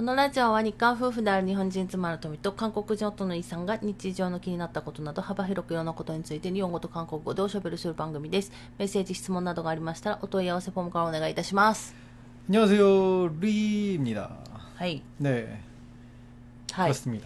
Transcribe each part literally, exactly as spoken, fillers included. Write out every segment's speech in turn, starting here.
このラジオは日韓夫婦である日本人妻の富と韓国人夫のイさんが日常の気になったことなど幅広くいろんなことについて日本語と韓国語でおしゃべりする番組です。メッセージ、質問などがありましたらお問い合わせフォームからお願いいたします。 안녕하세요, 리입니다. はい。 네, はい 그렇습니다.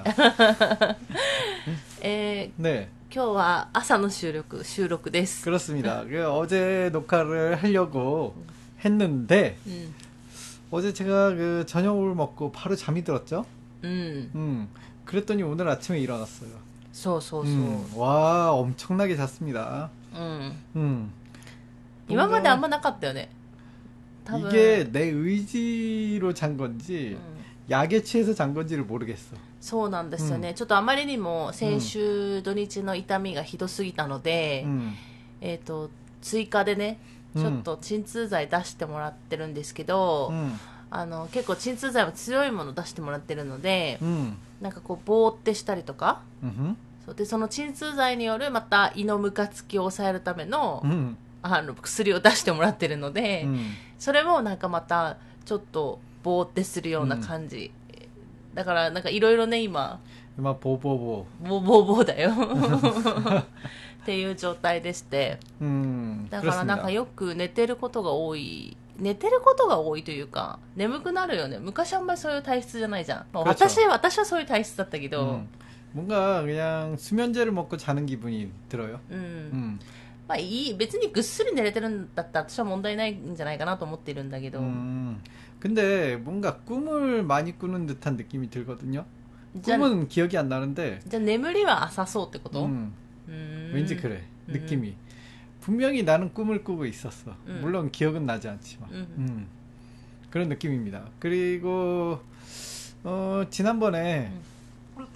えー 네, 今日は朝の収録収録です。 그렇습니다. 그 어제 녹화를 하려고 했는데 うん 어제 제가 그 저녁을 먹고 바로 잠이 들었죠. うん 음, 그랬더니 오늘 아침에 일어났어요. そうそうそう、 음, 와, 엄청나게 잤습니다. うん 음, 今まであんまなかったよね。多分 이게 내 의지로 잔 건지 うん 약에 취해서 잔 건지를 모르겠어. そうなんですよね、ちょっとあまりにも先週土日の痛みがひどすぎたので、 음, えっと追加でねちょっと鎮痛剤出してもらってるんですけど、 음, あの結構鎮痛剤も強いもの出してもらってるので、 음, なんかこうボーってしたりとか、 음, そうでその鎮痛剤によるまた胃のムカつきを抑えるための、 음, あの薬を出してもらってるので、 음. それもなんかまたちょっとボーってするような感じ、だからなんかいろいろね今 막 보보보. ボーボーボーだよっていう状態でして、 음, だからなんかよく寝てることが多い寝てることが多いというか眠くなるよね。昔あんまりそういう体質じゃないじゃん、まあ、私, 私はそういう体質だったけど、 음, 뭔가 그냥 수면제를 먹고 자는 기분이 들어요. うん、 음, まあいい別にぐっすり寝れてるんだったら私は問題ないんじゃないかなと思っているんだけど、 음, 근데 뭔가 꿈을 많이 꾸는 듯한 느낌이 들거든요. じゃあ 꿈은 기억이 안 나는데 じゃあ眠りは浅そうってこと？ 음, うーん 왠지 그래. 음. 느낌이. 분명히 나는 꿈을 꾸고 있었어. 음. 물론 기억은 나지 않지만. 음. 음, 그런 느낌입니다. 그리고 어, 지난번에 음.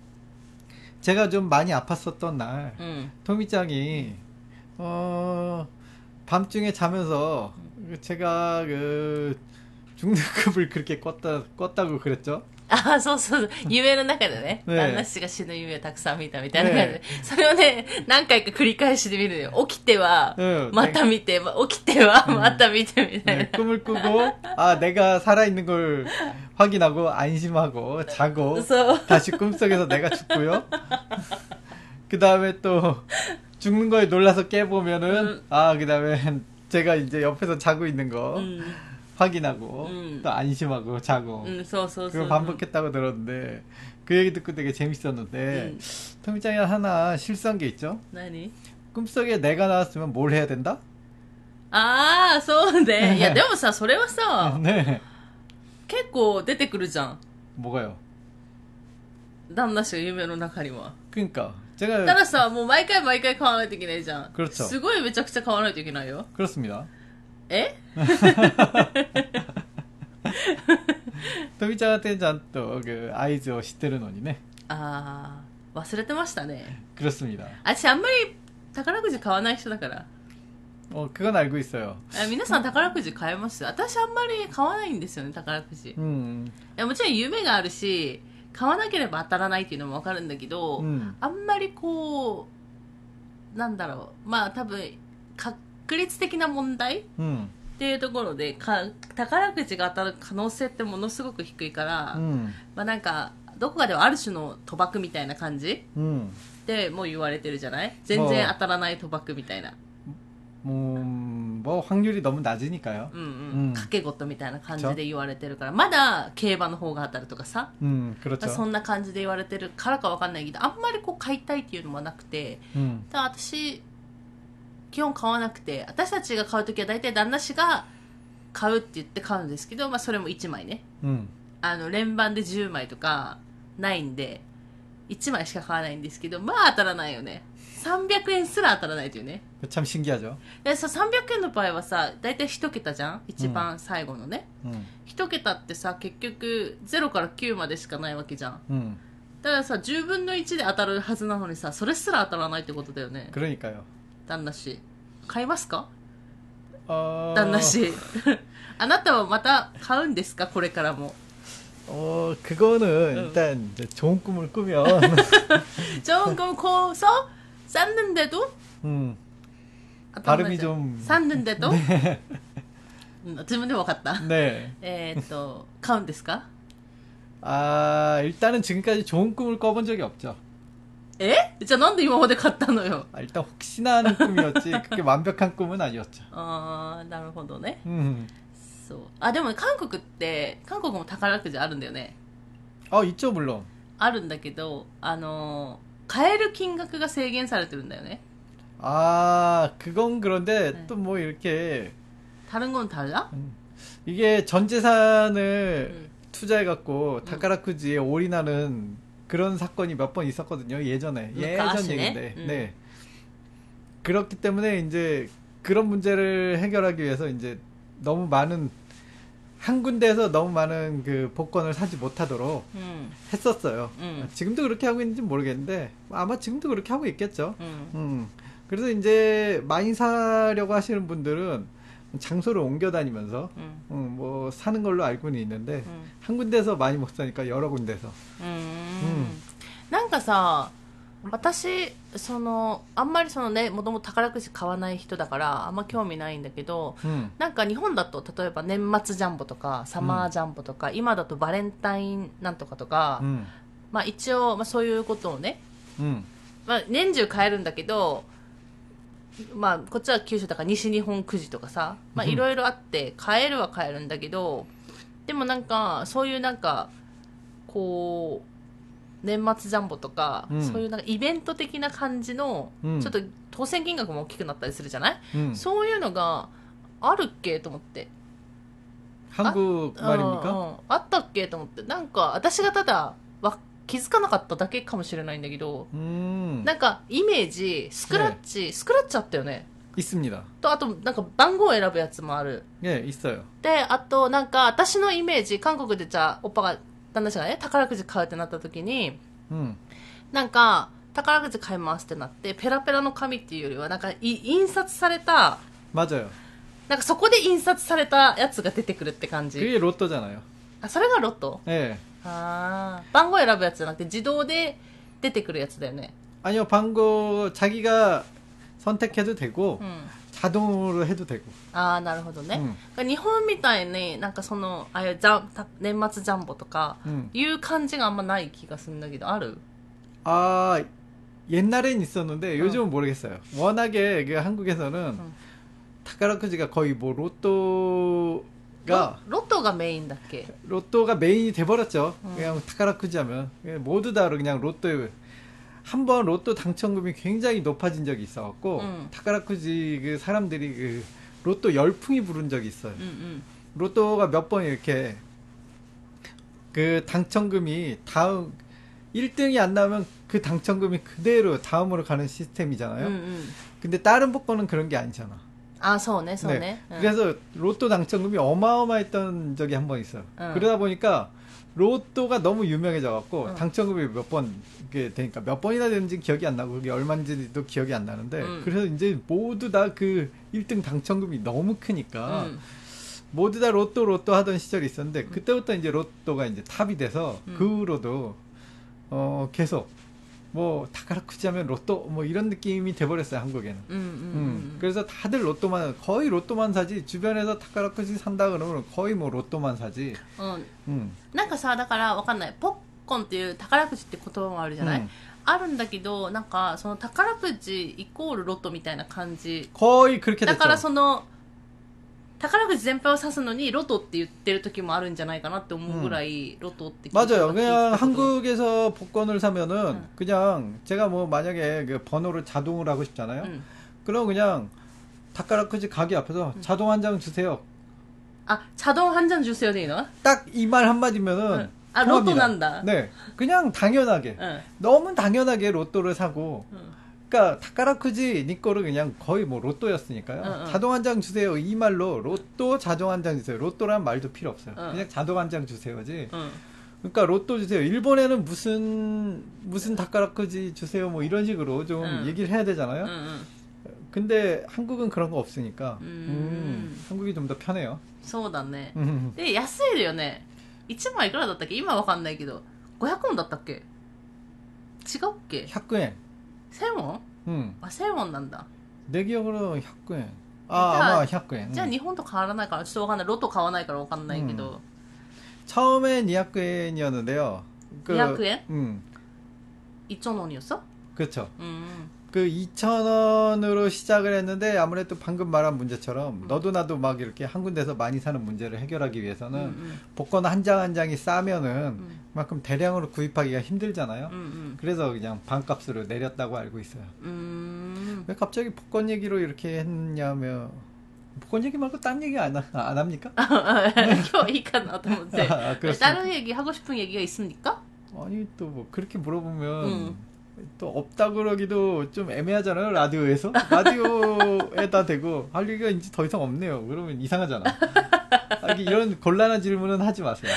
제가 좀 많이 아팠었던 날 うん 토미짱이 어, 밤중에 자면서 제가 그 죽는 꿈을 그렇게 꿨다, 꿨다고 그랬죠? あ、そうそう、夢の中でね、 ね旦那氏が死ぬ夢をたくさん見たみたいな感じで、それをね、何回か繰り返しで見るのよ。起きては、 うんまた見て、ま起きては、また見てみたいな。 네, 꿈을 꾸고 아 내가 살아있는 걸 확인하고 안심하고 자고 그래서- 다시 꿈속에서 내가 죽고요. 그 다음에 또 죽는 거에 놀라서 깨보면은 음. 아 그 다음에 제가 이제 옆에서 자고 있는 거 うん、 확인하고 음. 또 안심하고 자고 うん、そうそうそう。 그걸 반복했다고 들었는데 그 얘기 듣고 되게 재밌었는데 음. 토미짱이 하나 실수한 게 있죠. 何？ 꿈속에 내가 나왔으면 뭘 해야 된다? ああ、そうね。いや、でもさ、それはさ、 네. 結構出てくるじゃん。 뭐가요? 旦那氏が夢の中には。 그러니까 た 제가 ださ、もう毎回毎回買わないといけないじゃん。 그렇죠. すごいめちゃくちゃ買わないといけないよ。 그렇습니다. え？ 토미짱한테는 또 그 아이즈を知ってるのにね. ああ、忘れてましたね。 그렇습니다. 私あんまり宝くじ買わない人だから。 어 그건 알고 있어요. あ、皆さん宝くじ買えます？私あんまり買わないんですよね、宝くじ。い 음, やもちろん夢があるし、買わなければ当たらないっていうのもわかるんだけど、 음, あんまりこう、なんだろう、まあ多分、確率的な問題 음, っていうところでか、宝くじが当たる可能性ってものすごく低いから、 음, まあなんか、どこかではある種の賭博みたいな感じ 음. でもう言われてるじゃない？全然当たらない賭博みたいな。 음, 뭐 확률이 너무 낮으니까요. うんうん。 うん賭け事みたいな感じで言われてるから、まだ競馬の方が当たるとかさ、 음, まあ 그렇죠. そんな感じで言われてるからかわかんないけど、あんまりこう買いたいっていうのはなくて、 음, だから私、基本買わなくて、私たちが買うときは大体旦那氏が買うって言って買うんですけど、まあそれもいちまいね。 음, あの、連番でじゅうまいとかないんで、いちまいしか買わないんですけど、まあ当たらないよね。さんびゃくえんすら当たらないというね。 참 신기하죠. でさ、さんびゃくえんの場合はさ、大体いち桁じゃん？一番最後のね。 음, いち桁ってさ、結局ゼロからきゅうまでしかないわけじゃん。 음, だからさ、じゅうぶんのいちで当たるはずなのにさ、それすら当たらないってことだよね。 그러니까요. 旦那氏。買いますか？ 어, 旦那氏。あなたはまた買うんですか？これからも。 어, 그거는 일단 이제 좋은 꿈을 꾸면 좋은 꿈 꿔서 쌌는데도 음, 발음이 좀 쌌는데도 네. うん自分でも分かった。 네. えーっと買うんですか？ 아, 일단은 지금까지 좋은 꿈을 꿔본 적이 없죠. えじゃあなんで今まで買ったのよ。 아, 일단 혹시나 하는 꿈이었지 그게 완벽한 꿈은 아니었죠. あー、なるほどね。 음. そう。あ、でも韓国って、韓国も宝くじあるんだよね。 어, 있죠, 물론. あるんだけど、あのー、買える金額が制限されてるんだよね。 아, 그건 그런데 네. 또 뭐 이렇게 다른 건 달라? 음, 이게 전 재산을 음. 투자해갖고 다카라쿠지에 올인하는 그런 사건이 몇 번 있었거든요. 예전에. 예전 아시네? 얘기인데. 음. 네. 그렇기 때문에 이제 그런 문제를 해결하기 위해서 이제 너무 많은 한 군데에서 너무 많은 그 복권을 사지 못하도록 음. 했었어요. 음. 지금도 그렇게 하고 있는지 모르겠는데 아마 지금도 그렇게 하고 있겠죠. 음. 음. 그래서 이제 많이 사려고 하시는 분들은 장소를 옮겨 다니면서 음. 음, 뭐 사는 걸로 알고는 있는데 음. 한 군데서 많이 못 사니까 여러 군데서. うーんなんかさ、私、その、あんまりそのね、もともと宝くじ買わない人だから、あんま興味ないんだけど、 음. なんか日本だと、例えば年末ジャンボとか、サマージャンボとか、今だとバレンタインなんとかとか、 음. まあ一応、まあそういうことをね、 음. まあ年中買えるんだけど、まあこっちは九州だから西日本くじとかさ、まあいろいろあって買えるは買えるんだけど、でもなんかそういうなんかこう年末ジャンボとか、 うんそういうなんかイベント的な感じの、 うんちょっと当選金額も大きくなったりするじゃない、 음. そういうのがあるっけと思って 한국 うん 말입니까? うんあったっけと思ってなんか私がただわ気づかなかっただけかもしれないんだけど、 음. なんかイメージスクラッチ、スクラッチあったよね 있습니다. とあとなんか番号を選ぶやつもある 예, 있어요. であとなんか私のイメージ韓国でじゃあおっぱが旦那氏がね宝くじ買うってなった時に 음. なんか宝くじ買いますってなってペラペラの紙っていうよりはなんかい印刷された 맞아요. なんかそこで印刷されたやつが出てくるって感じ 그게 로또잖아요. あそれがロト 예. あー番号選ぶやつじゃなくて自動で出てくるやつだよね 아니요, 방고 자기가 선택해도 되고 うん 자동으로 해도 되고. ああなるほどね、 うん日本みたいになんかそのああいうジャンた年末ジャンボとか 음. いう感じがあんまない気がするんだけどある 아, 옛날엔 있었는데 요즘은 모르겠어요. 워낙에 그 한국에서는 음. 타카라쿠지가 거의 뭐 로또가 ロロトがメインだっけ 로또가 메인이 돼버렸죠. 음. 그냥 타카라쿠지 하면 모두 다 그냥 로또 한 번 로또 당첨금이 굉장히 높아진 적이 있어갖고 음. 타카라쿠지 그 사람들이 그 로또 열풍이 부른 적이 있어요. うんうん 로또가 몇 번 이렇게 그 당첨금이 다음 일 등이 안 나오면 그 당첨금이 그대로 다음으로 가는 시스템이잖아요. うんうん 근데 다른 복권은 그런 게 아니잖아. あそうねそうね、うん 그래서 로또 당첨금이 어마어마했던 적이 한 번 있어요. 응. 그러다 보니까 로또가 너무 유명해져갖고 응. 당첨금이 몇 번 이게 되니까 몇 번이나 되는지 기억이 안 나고 그게 얼마인지도 기억이 안 나는데 응. 그래서 이제 모두 다 그 일 등 당첨금이 너무 크니까 うん 모두 다 로또 로또 하던 시절이 있었는데 그때부터 이제 로또가 이제 탑이 돼서 응. 그 후로도 어 계속 뭐 타카라쿠지 하면 로또 뭐 이런 느낌이 돼버렸어요 한국에는. うんうんう 음, ん 그래서 다들 로또만 거의 로또만 사지 주변에서 타카라쿠지 산다 그러면 거의 뭐 로또만 사지. うん 음, なんかさだからわかんないポッコンっていう宝くじって言葉もあるじゃない、 음. あるんだけどなんかその宝くじイコールロトみたいな感じ 거의 그렇게 だから 됐죠. その宝くじ全般を指すのにロトって言ってる時もあるんじゃないかなって思うぐらい、ロトって聞いた 맞아요. 聞い 그냥 たけど 한국에서 복권을 사면은 응. 그냥 제가 뭐 만약에 그 번호를 자동으로 하고 싶잖아요. うん 그럼 그냥 타카라쿠지 가게 앞에서 자동 한 장 주세요. あ자동 한 잔 주세요でいいの 딱 이 말 한마디면은 응. 아, 통합니다. 로또 난다. 네, 그냥 당연하게 うん 너무 당연하게 로또를 사고 うん 그러니까 타카라쿠지 니 거를 그냥 거의 뭐 로또였으니까요. 응, 응. 자동 한 장 주세요. 이 말로 로또 자동 한 장 주세요. 로또란 말도 필요 없어요. 응. 그냥 자동 한 장 주세요지. うん 그러니까 로또 주세요. 일본에는 무슨 무슨 타카라쿠지 주세요. 뭐 이런 식으로 좀 응. 얘기를 해야 う 되잖아요. んうん 근데 한국은 그런 거 없으니까 음. 음, 한국이 좀 더 편해요. そうだね 음. で安いよねいちまいいくらだったっけ今わかんないけどごひゃくウォンだったっけ違うっけ 백 엔. せんウォン 음. あせんウォンなんだ 내 기억으로 백 엔. 아, 자, 아마 백 엔. じゃあ 음. 日本と変わらないからちょっとわかんないロト買わないからわかんないけど、 처음엔 이百엔이었는데요. 그, 이백 엔? 음, 이천 원이었어? 그렇죠. 음. 그 이천 원으로 시작을 했는데 아무래도 방금 말한 문제처럼 음. 너도 나도 막 이렇게 한 군데서 많이 사는 문제를 해결하기 위해서는 음, 음. 복권 한 장 한 장이 싸면은 음. 그만큼 대량으로 구입하기가 힘들잖아요. 음, 음. 그래서 그냥 반값으로 내렸다고 알고 있어요. 음. 왜 갑자기 복권 얘기로 이렇게 했냐면 복권 얘기 말고 딴 얘기 안, 하- 안 합니까? 今日いいかなと思って 아, 그렇습니까? 다른 얘기 하고 싶은 얘기가 있습니까? 아니 또 뭐 그렇게 물어보면 음. 또 없다 그러기도 좀 애매하잖아요. 라디오에서 라디오에다 대고 할 얘기가 이제 더 이상 없네요. 그러면 이상하잖아. 아, 이게 이런 곤란한 질문은 하지 마세요.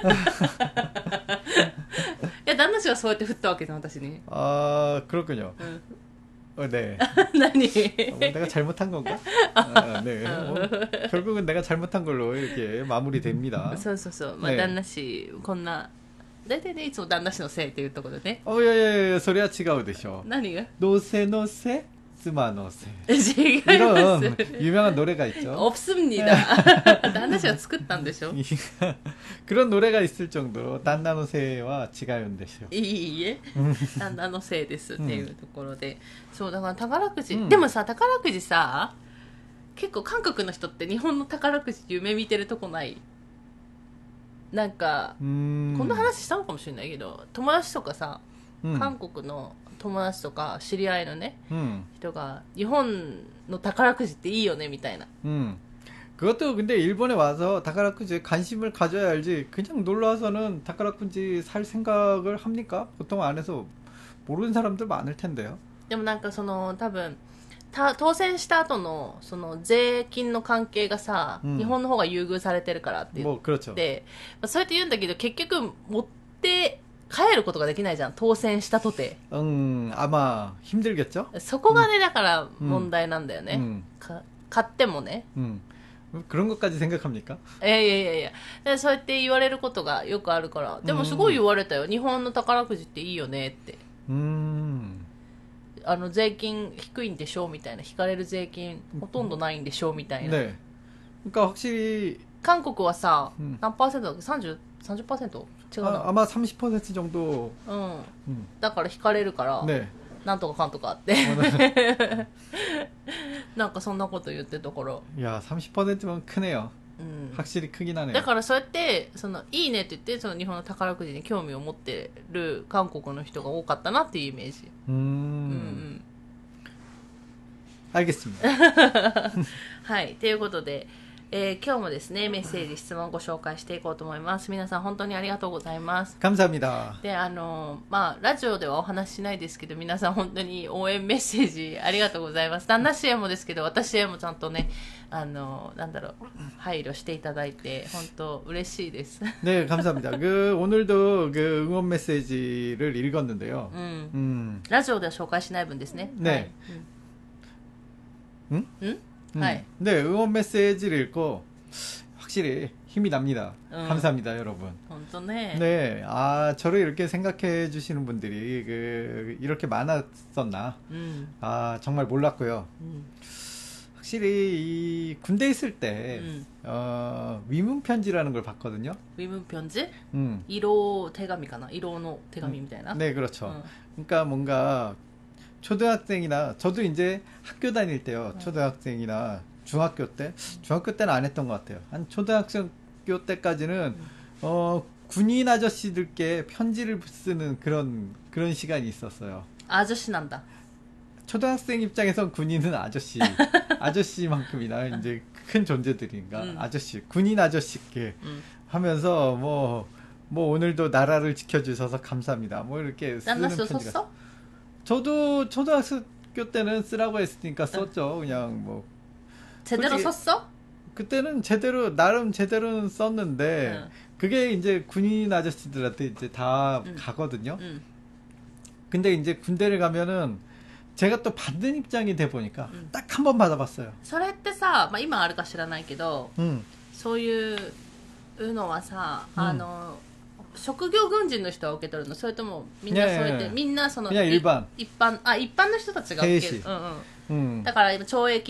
いや旦那氏はそうやって振ったわけじゃん私に 아 그렇군요. うん 어, 네. 何 어, 내가 잘못한 건가? 아, 네. 뭐, 결국은 내가 잘못한 걸로 이렇게 마무리됩니다. そうそうそう、まあね旦那氏こんな大体ねいつも旦那氏のせいっていうところでね 어, 예, 예, 예, 소리가 違うでしょ. 何が 노세 노세 스마 노세. 違いま 이런 す 유명한 노래가 있죠. 없습니다 旦那氏が作ったんでしょ 그런 노래가 있을 정도로 단나노세와 지가요인데요. いいえ旦那のせいですっていうところで、そうだから宝くじ、 うんでもさ宝くじさ結構韓国の人って日本の宝くじ夢見てるとこないなんか、 음. こんな話したのかもしれないけど友達とかさ、 음. 韓国の友達とか知り合いのね 음. 人が日本の宝くじっていいよねみたいな 음. 그것도 근데 일본에 와서 다카라쿠지에 관심을 가져야 알지. 그냥 놀러 와서는 다카라쿠지 살 생각을 합니까? 보통 안에서 모르는 사람들 많을 텐데요. でもなんかその多分た当選した後のその税金の関係がさ、 うん日本の方が優遇されてるからって言っ 뭐 그렇죠. て、まあ、そうやって言うんだけど結局持って帰ることができないじゃん当選したとて 음, 아마 힘들겠죠? そこがね、だから問題なんだよね、 음. か買ってもね 음. 그런 것까지 생각합니까? いやいやいやいやでそうやって言われることがよくあるからでもすごい言われたよ、日本の宝くじっていいよねって 음. あの税金低いんでしょみたいな引かれる税金ほとんどないんでしょみたいな、 네. 그러니까 확실히 韓国はさ、 うん何パーセントだっけ さんじゅう、さんじゅっパーセント 違う 아, な、 아마 삼십 퍼센트 정도. うん 음. だから引かれるから、 네. なんとかかんとかあってなんかそんなこと言ってたから、 야, 삼십 퍼센트면 크네요. うん、 확실히 크긴 하네요. だからそうやってそのいいねって言ってその日本の宝くじに興味を持ってる韓国の人が多かったなっていうイメージ、 음. うんうん、 알겠습니다. はいということで、えー今日もですねメッセージ質問をご紹介していこうと思います。皆さん本当にありがとうございます。 감사합니다. であのまあラジオではお話ししないですけど皆さん本当に応援メッセージありがとうございます。旦那氏へもですけど私へもちゃんとねあのなんだろう配慮していただいて本当嬉しいです。 네, 감사합니다. 그 오늘도 그 응원 메시지를 읽었는데요. うん、 음. ラジオでは紹介しない分ですね。 네. はい 응? うん、 음. はい。 네, 응원 메시지를 읽고 확실히 힘이 납니다. 음. 감사합니다, 여러분. 本当ね。 네, 아, 저를 이렇게 생각해 주시는 분들이 그 이렇게 많았었나? うん、 아, 정말 몰랐고요. うん、 확실히 이 군대 있을 때 うん、 어, 위문 편지라는 걸 봤거든요. ウィムピョンジ 음. 色手紙かな色の手紙みたいな。 네, 그렇죠. うん、 그러니까 뭔가 초등학생이나 저도 이제 학교 다닐 때요. 초등학생이나 중학교 때 중학교 때는 안 했던 것 같아요. 한 초등학교 때까지는 어, 군인 아저씨들께 편지를 쓰는 그런 그런 시간이 있었어요. アジャシなんだ。 초등학생 입장에선 군인은 아저씨, 아저씨만큼이나 이제 큰 존재들인가 음. 아저씨, 군인 아저씨께 うん、 하면서 뭐, 뭐 오늘도 나라를 지켜주셔서 감사합니다. 뭐 이렇게 旦 쓰는 那氏を 편지가. そっ 저도 초등학교 때는 쓰라고 했으니까 썼죠. 그냥 뭐 제대로 솔직히- 썼어? 그때는 제대로 나름 제대로는 썼는데 응. 그게 이제 군인 아저씨들한테 이제 다 응. 가거든요. うん、 근데 이제 군대를 가면은 제가 또 받는 입장이 돼 보니까 응. 딱 한 번 받아봤어요. それってさ、まあ、今あるか知らないけど 응. そういうのはさ、 うんあの職業軍人の人は受け取るのそれともみんなそうやって、 いやいやいやみんなその 그냥 い 일반. 一般あ一般の人たちが受ける、 兵士うんうん、 응. だから今懲役でい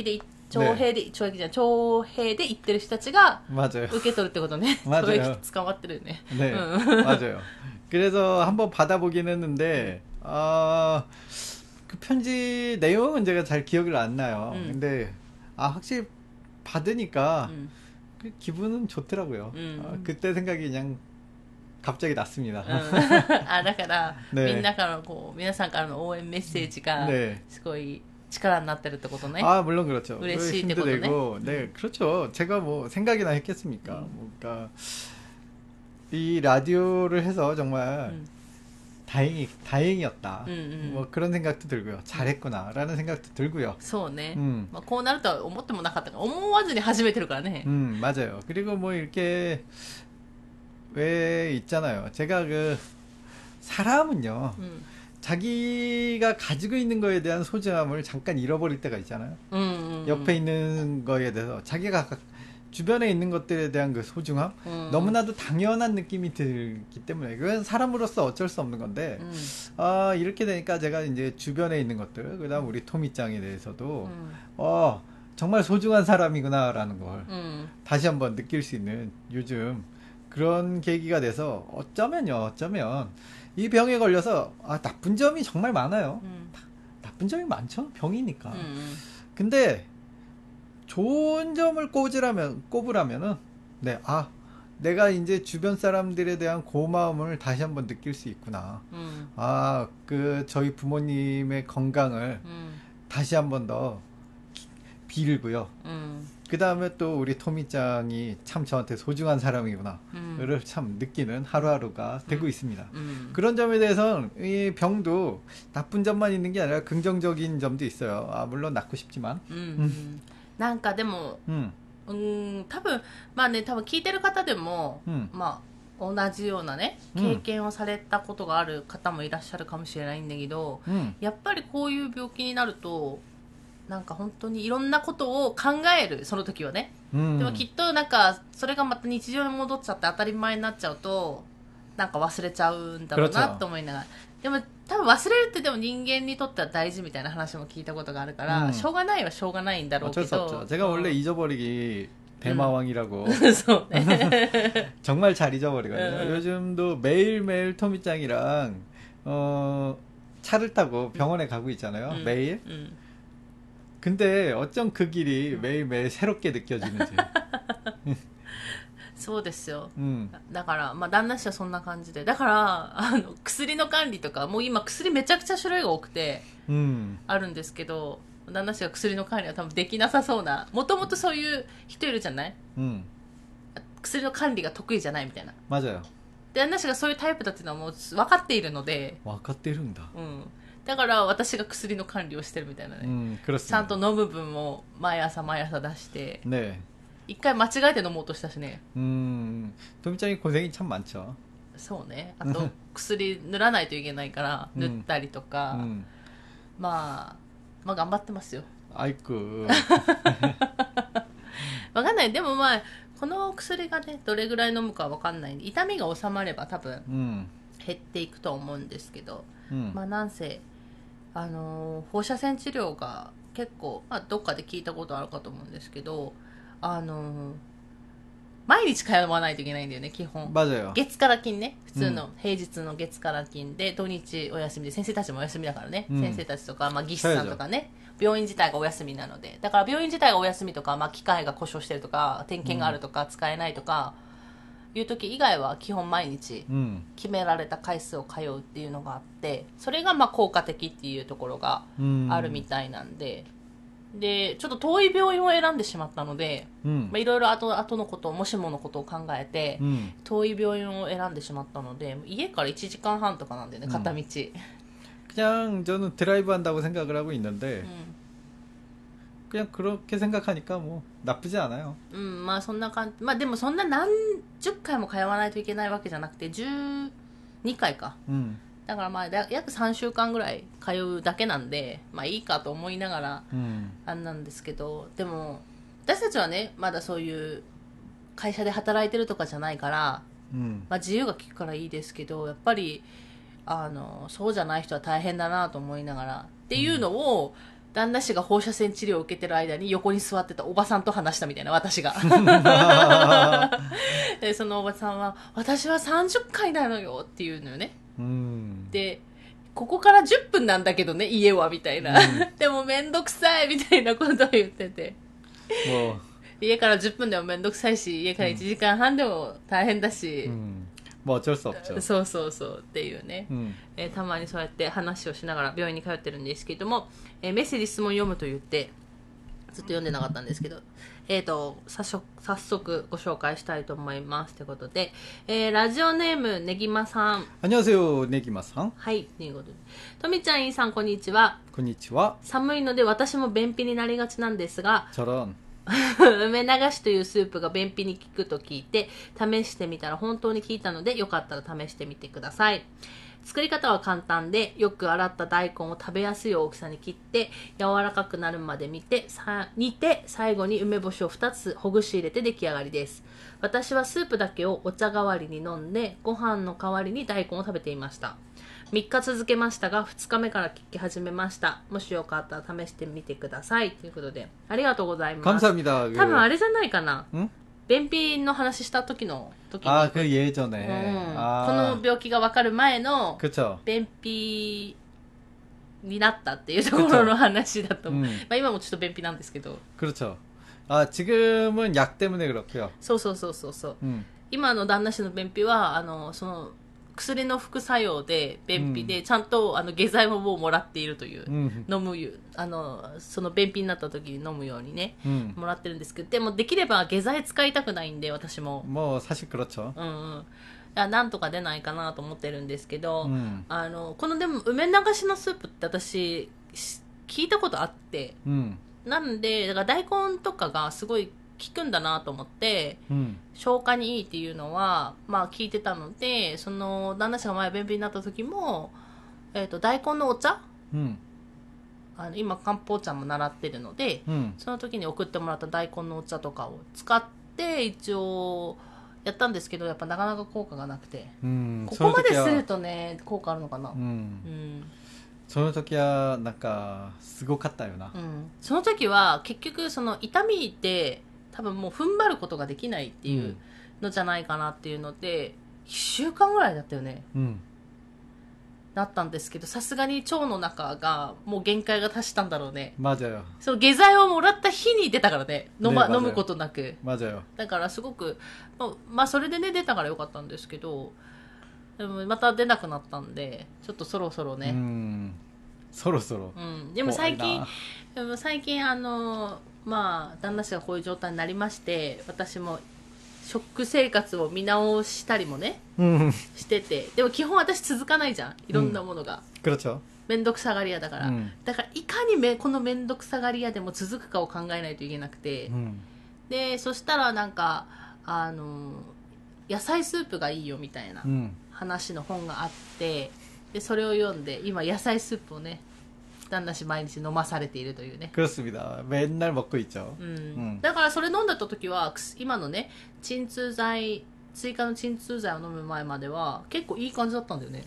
徴兵で、懲役じゃない、徴兵で行ってる人たちが 맞아요. 受け取るってことね。 맞아요. 懲役捕まってるよね。 네, うん 맞아요. 그래서 한번 받아보긴 했는데, 아, 그 편지 내용은 제가 잘 기억을 안 나요. 음. 근데, 아, 확실히 받으니까, 음. 그 기분은 좋더라고요. 음. 아, 그때 생각이 그냥 갑자기 났습니다. あ、だから、 ねみんなからのこう、皆さんからの応援メッセージが 네. すごい力になってるってことね。 아, 물론 그렇죠. 嬉しい 힘도 ってことね。 내고, 네, 그렇죠. 제가 뭐 생각이나 했겠습니까? 음. 뭔가 이 라디오를 해서 정말 음. 다행이 다행이었다. 음, 음. 뭐 그런 생각도 들고요. 잘했구나라는 생각도 들고요. そうね。 음. まあ、こうなるとは思ってもなかったから、思わずに始めてるからね。 음, 맞아요. 그리고 뭐 이렇게 왜 있잖아요. 제가 그 사람은요. うん。 자기가 가지고 있는 거에 대한 소중함을 잠깐 잃어버릴 때가 있잖아요. うんうんうん。 옆에 있는 거에 대해서 자기가 가- 주변에 있는 것들에 대한 그 소중함 음. 너무나도 당연한 느낌이 들기 때문에 그건 사람으로서 어쩔 수 없는 건데 うん。 아 이렇게 되니까 제가 이제 주변에 있는 것들 그다음 우리 토미짱에 대해서도 うん。 어 정말 소중한 사람이구나라는 걸 うん。 다시 한번 느낄 수 있는 요즘 그런 계기가 돼서 어쩌면요 어쩌면 이 병에 걸려서 아 나쁜 점이 정말 많아요. うん。 나쁜 점이 많죠 병이니까. うんうん。 근데 좋은 점을 꼽으라면 꼽으라면은 네, 아 내가 이제 주변 사람들에 대한 고마움을 다시 한번 느낄 수 있구나. うん。 아, 그 저희 부모님의 건강을 うん。 다시 한번 더 기- 빌고요. うん。 그 다음에 또 우리 토미짱이 참 저한테 소중한 사람이구나. うん。 를 참 느끼는 하루하루가 되고 음. 있습니다. うん。 그런 점에 대해서는 이 병도 나쁜 점만 있는 게 아니라 긍정적인 점도 있어요. 아, 물론 낫고 싶지만. うんうんなんかでも 음, うーん多分まあね多分聞いてる方でも、 음, まあ同じようなねうん経験をされたことがある方もいらっしゃるかもしれないんだけど、 음, やっぱりこういう病気になるとなんか本当にいろんなことを考えるその時はね、 음. でもきっとなんかそれがまた日常に戻っちゃって当たり前になっちゃうとなんか忘れちゃうんだろうなと思いながら、でも多分忘れるってでも人間にとっては大事みたいな話も聞いたことがあるから、 うんしょうがないはしょうがないんだろうけ 어쩔 수 ど 없죠. 제가 원래 잊어버리기 대마왕이라고 そうね 정말 잘 잊어버리거든요. 응. 요즘도 매일매일 토미짱이랑 어, 차를 타고 병원에 가고 있잖아요. うん 매일. うん 근데 어쩜 그 길이 매일매일 새롭게 느껴지는지. そうですよ 음, だからまあ旦那氏はそんな感じでだからあの薬の管理とかもう今薬めちゃくちゃ種類が多くて 음, あるんですけど旦那氏が薬の管理は多分できなさそうなもともとそういう人いるじゃない 음, 薬の管理が得意じゃないみたいな 맞아요. で旦那氏がそういうタイプだっていうのはもう分かっているので、 와카테룬다. うん、だから私が薬の管理をしてるみたいなね、 음, ちゃん 그렇습니다. と飲む分も毎朝毎朝出して 네. 一回間違えて飲もうとしたしね 음, 토미짱이 고생이 참 많죠. そうねあと薬塗らないといけないからうん塗ったりとか、 음, まあまあ頑張ってますよ 아이쿠. わかんないでもまあこの薬がねどれぐらい飲むかわかんないんで痛みが収まれば多分 음, 減っていくと思うんですけど、 음, まあなんせあのー放射線治療が結構、まあ、どっかで聞いたことあるかと思うんですけどあのー毎日通わないといけないんだよね基本 맞아요. 月から金ね普通の平日の月から金で土日お休みで先生たちもお休みだからね、 うん先生たちとか、まあ、技師さんとかね病院自体がお休みなのでだから病院自体がお休みとか、まあ、機械が故障してるとか点検があるとか、使えないとかいう時以外は基本毎日 음, 決められた回数を通うっていうのがあってそれがまあ効果的っていうところが 음, あるみたいなんで、でちょっと遠い病院を選んでしまったので 음, まあいろいろ後後のこともしものことを考えて、 음. 遠い病院を選んでしまったので家からいちじかんはんとかなんだよねうん片道、 그냥 저는 드라이브 한다고 생각을 하고 있는데 う 그냥 그렇게 생각하니까 뭐 나쁘지 않아요. んうん、まあそんな感じまあでもそんな何十回も通わないといけないわけじゃなくてじゅうにかいか 음, だからまあだ約さんしゅうかんぐらい通うだけなんでまあいいかと思いながら 음, あんなんですけどでも私たちはねまだそういう会社で働いてるとかじゃないから、 음, まあ、自由が利くからいいですけどやっぱりあのそうじゃない人は大変だなと思いながらっていうのを旦那氏が放射線治療を受けてる間に横に座ってたおばさんと話したみたいな、私が。で、そのおばさんは、私はさんじゅっかいなのよっていうのよね。 うん。 で、ここからじゅっぷんなんだけどね、家は、みたいな。うん、でもめんどくさい、みたいなことを言ってて。もう家からじゅっぷんでもめんどくさいし、家からいちじかんはんでも大変だし。うん、 もう어쩔수 없죠。 そうそうそうっていうね、うん、えー、たまにそうやって話をしながら病院に通ってるんですけども、えー、メッセージ質問読むと言ってずっと読んでなかったんですけど、えーと早速、早速ご紹介したいと思いますということで、えー、ラジオネームねぎまさん。 안녕하세요ねぎまさん。 はい、ということで、とみちゃん、いいさん、こんにちは。 こんにちは。 寒いので私も便秘になりがちなんですが、 ちょろん梅流しというスープが便秘に効くと聞いて試してみたら本当に効いたので、よかったら試してみてください。作り方は簡単で、よく洗った大根を食べやすい大きさに切って柔らかくなるまで煮て、さ煮て最後に梅干しをふたつほぐし入れて出来上がりです。私はスープだけをお茶代わりに飲んで、ご飯の代わりに大根を食べていました。みっか続けましたが、ふつかめから聞き始めました。もしよかったら試してみてくださいということで、ありがとうございます。 감사합니다。 多分あれじゃないかな、便秘の話した時の時に、 あ、그 예전에、 うん、この病気が分かる前の 그쵸、 便秘になったっていうところの話だと思う。まあ今もちょっと便秘なんですけど。 그렇죠。あ、지금은 약 때문에 그렇고요。 そうそうそうそうそう。うん、今の旦那氏の便秘はあのその薬の副作用で便秘で、うん、ちゃんとあの下剤ももうもらっているという、うん、飲むあのその便秘になった時に飲むようにね、うん、もらってるんですけど、でもできれば下剤使いたくないんで、私ももう사실 그렇죠。 うんうんなんとか出ないかなと思ってるんですけど、うん、あのこのでも梅流しのスープって私聞いたことあって、うん、なんでだから大根とかがすごい効くんだなと思って、うん、消化にいいっていうのはまあ聞いてたので、その旦那氏が前便秘になった時も、えー、と大根のお茶、うん、あの今漢方茶も習ってるので、うん、その時に送ってもらった大根のお茶とかを使って一応やったんですけど、やっぱなかなか効果がなくて、うん、ここまでするとね効果あるのかな。うん、うん、 その時はなんかすごかったよな、 うん、その時は結局その痛みって多分もう踏ん張ることができないっていうのじゃないかなっていうので、いっしゅうかんぐらいだったよね、うん、だったんですけど、さすがに腸の中がもう限界が達したんだろうね。 맞아요。 その下剤をもらった日に出たからね、飲, ま、 ね、 飲むことなく。 맞아요。 だからすごくまあそれでね出たからよかったんですけど、でもまた出なくなったんで、ちょっとそろそろね、うんそろそろ、 うん、でも最近でも最近あのまあ旦那氏がこういう状態になりまして、私も食生活を見直したりもね、うん、してて、でも基本私続かないじゃん、いろんなものが、 うん、그렇죠。 めんどくさがり屋だから、うん、だからいかにめこのめんどくさがり屋でも続くかを考えないといけなくて、うん、でそしたらなんかあの野菜スープがいいよみたいな話の本があって、でそれを読んで今野菜スープをね旦那氏毎日飲まされているというね。 그렇습니다。맨날 먹고 있죠。 うんうん、だからそれ飲んだ時は今のね鎮痛剤追加の鎮痛剤を飲む前までは結構いい感じだったんだよね。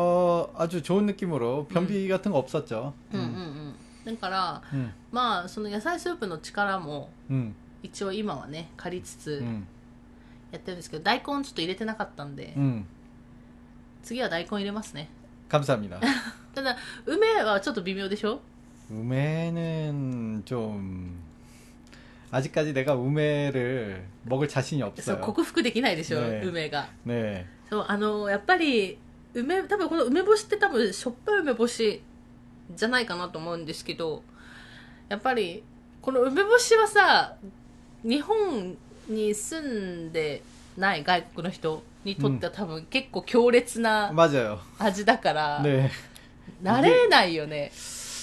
어 아주 좋은 느낌으로 변비 같은 거 없었죠。 うんうんうん。だから、うん、まあその野菜スープの力も一応今はね借りつつやってるんですけど、大根ちょっと入れてなかったんで、うん、次は大根入れますね。 감사합니다。 ただ梅はちょっと微妙でしょ。 梅는 좀 아직까지 내가梅를 먹을 자신이 없어요。 克服できないでしょ、 ね、 梅が。 ね、 そうあのやっぱり梅多分この梅干しって多分しょっぱい梅干しじゃないかなと思うんですけど、やっぱりこの梅干しはさ、日本に住んでない外国の人にとっては多分結構強烈な味だから、 ね、 慣れないよね。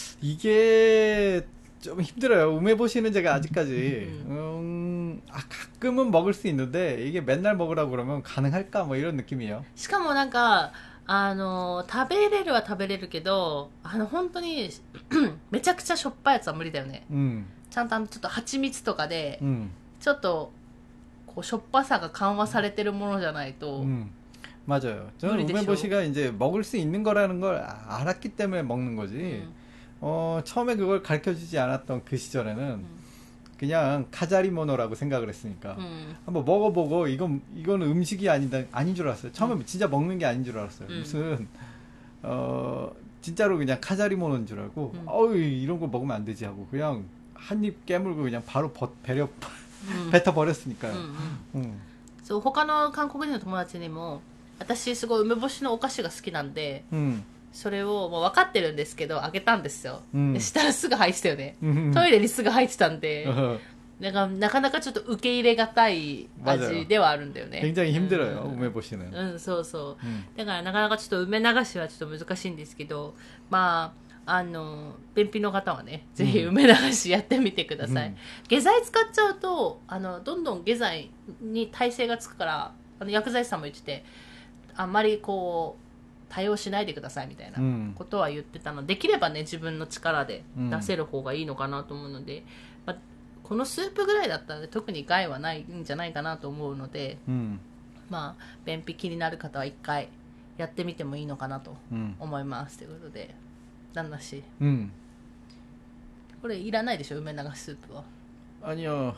이게 좀 힘들어요. 우메보시는 제가 아직까지 음, 아, 가끔은 먹을 수 있는데 이게 맨날 먹으라고 그러면 가능할까 뭐 이런 느낌이에요. しかもなんかあの食べれるは食べれるけど、あの本当にめちゃくちゃしょっぱいやつは無理だよね、うん、ちゃんとあのちょっと蜂蜜とかで、うん、ちょっとこうしょっぱさが緩和されてるものじゃないと、うん、 맞아요. 저는 우메보시가 이제 먹을 수 있는 거라는 걸 알았기 때문에 먹는 거지. 음. 어, 처음에 그걸 가르쳐 주지 않았던 그 시절에는 음. 그냥 카자리모노라고 생각을 했으니까 음. 한번 먹어보고 이건 이거는 음식이 아니다 아닌 줄 알았어요. 처음에 음. 진짜 먹는 게 아닌 줄 알았어요. 음. 무슨 어 진짜로 그냥 카자리모노인 줄 알고 음. 어우 이런 거 먹으면 안 되지 하고 그냥 한 입 깨물고 그냥 바로 버, 배려 うん 뱉어 버렸으니까요. うんうん 음. そう他の韓国人の友達にも私すごい梅干しのお菓子が好きなんで 음. それをもう分かってるんですけどあげたんですよ、 うんでしたらすぐ入ってたよね、 음. トイレにすぐ入ってたんで 어, なんかなかなかちょっと受け入れがたい味ではあるんだよね 굉장히 힘들어요. うん 우메보시는. うんそうそう 음. だからなかなかちょっと梅流しはちょっと難しいんですけどまああの便秘の方はねぜひ梅流しやってみてください、 うん下剤使っちゃうとあのどんどん下剤に耐性がつくからあの薬剤師さんも言っててあんまりこう対応しないでくださいみたいなうんことは言ってたので、できればね自分の力で出せる方がいいのかなと思うので、まあ、このスープぐらいだったら、ね、特に害はないんじゃないかなと思うので、 음. まあ便秘気になる方は一回やってみてもいいのかなと 음. 思いますということで、旦那氏 음. これいらないでしょ梅流しスープは。 아니요.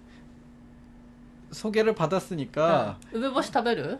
소개를 받았으니까 うん梅干し食べる？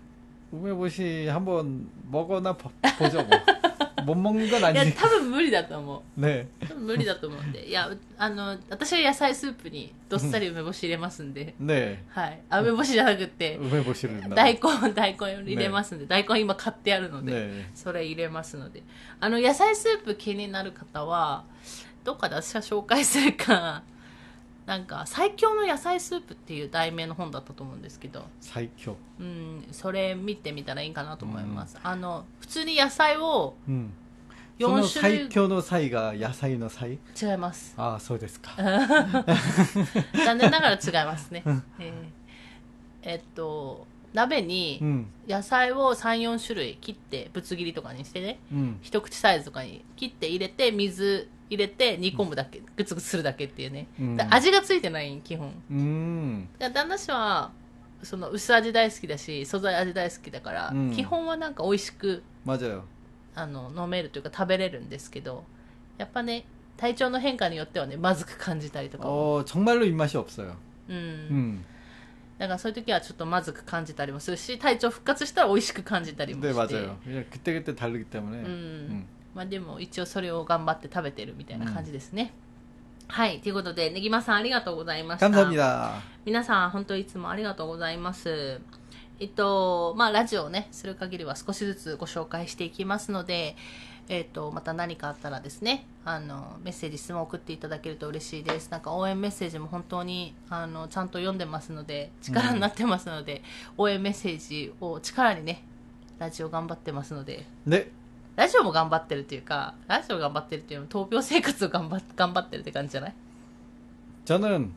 우메보시 한번 먹어나 보- 보죠 뭐. 못 먹는 건 いや 아니지. 多分無理だと思う。 네. 多分無理だと思うんで、いやあの私は野菜スープにどっさり梅干し入れますんで、 네. はい。あ梅干しじゃなくて 우메보시를 大根大根入れますんで、大根今買ってあるので、 네. それ入れますので、あの野菜スープ気になる方はどっかで私は紹介するか、なんか最強の野菜スープっていう題名の本だったと思うんですけど、 사이쿄. うんそれ見てみたらいいかなと思います。あの普通に野菜を 음. よんその種類 사이쿄의 사이가 야사이의 사이? 違います。 아, そうですか. 残念ながら違いますね。えーえっと鍋に 음. 野菜をさん、よん種類切ってぶつ切りとかにしてね、 음. 一口サイズとかに切って入れて水入れて煮込むだけ、グツグツするだけっていうね、 うんで味がついてない基本。 음. で旦那氏はその薄味大好きだし素材味大好きだから、 うん基本はなんか美味しく 맞아요. あの飲めるというか食べれるんですけど、やっぱね体調の変化によってはねまずく感じたりとかも、 어, 정말로 입맛이 없어요. うん 음. だからそういう時はちょっとまずく感じたりもするし、体調復活したら美味しく感じたりも 네, して、 맞아요. 그냥 그때그때 다르기 때문에. うん 음. まあ、でも一応それを頑張って食べてるみたいな感じですね、はいということでねぎまさんありがとうございました。 감사합니다. 皆さん本当いつもありがとうございます。えっとまあラジオをねする限りは少しずつご紹介していきますので、えっとまた何かあったらですね、あのメッセージ質問を送っていただけると嬉しいです。なんか応援メッセージも本当にあのちゃんと読んでますので力になってますので、応援メッセージを力にねラジオ頑張ってますので、 네. ラジオも頑張ってるっていうかラジオ頑張ってるっていうのは闘病生活を頑張っ頑張ってるって感じじゃない？ 저는 うん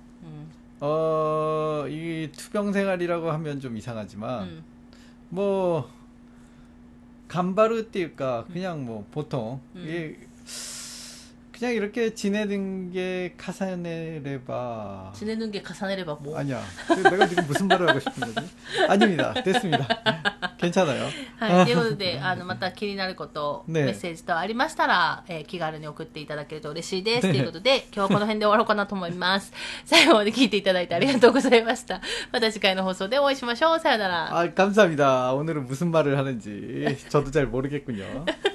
어, 이 투병 생활이라고 하면 좀 이상하지만 うん 뭐 간바르띠일까 그냥 뭐 보통 음. 이게 그냥 이렇게 지내는 게 카사네레바 血抜け重ねればもう 아니야. 내가 지금 무슨 말을 하고 싶은 거지? 아닙니다. 됐습니다. 괜찮아요. はい、ということで、あの、また気になること、 ねメッセージとありましたら、えー気軽に送っていただけると嬉しいです。 ねということで、今日はこの辺で終わろうかなと思います。最後まで聞いていただいてありがとうございました。また次回の放送でお会いしましょう。さよなら。 아, 감사합니다. 오늘은 무슨 말을 하는지 저도 잘 모르겠군요.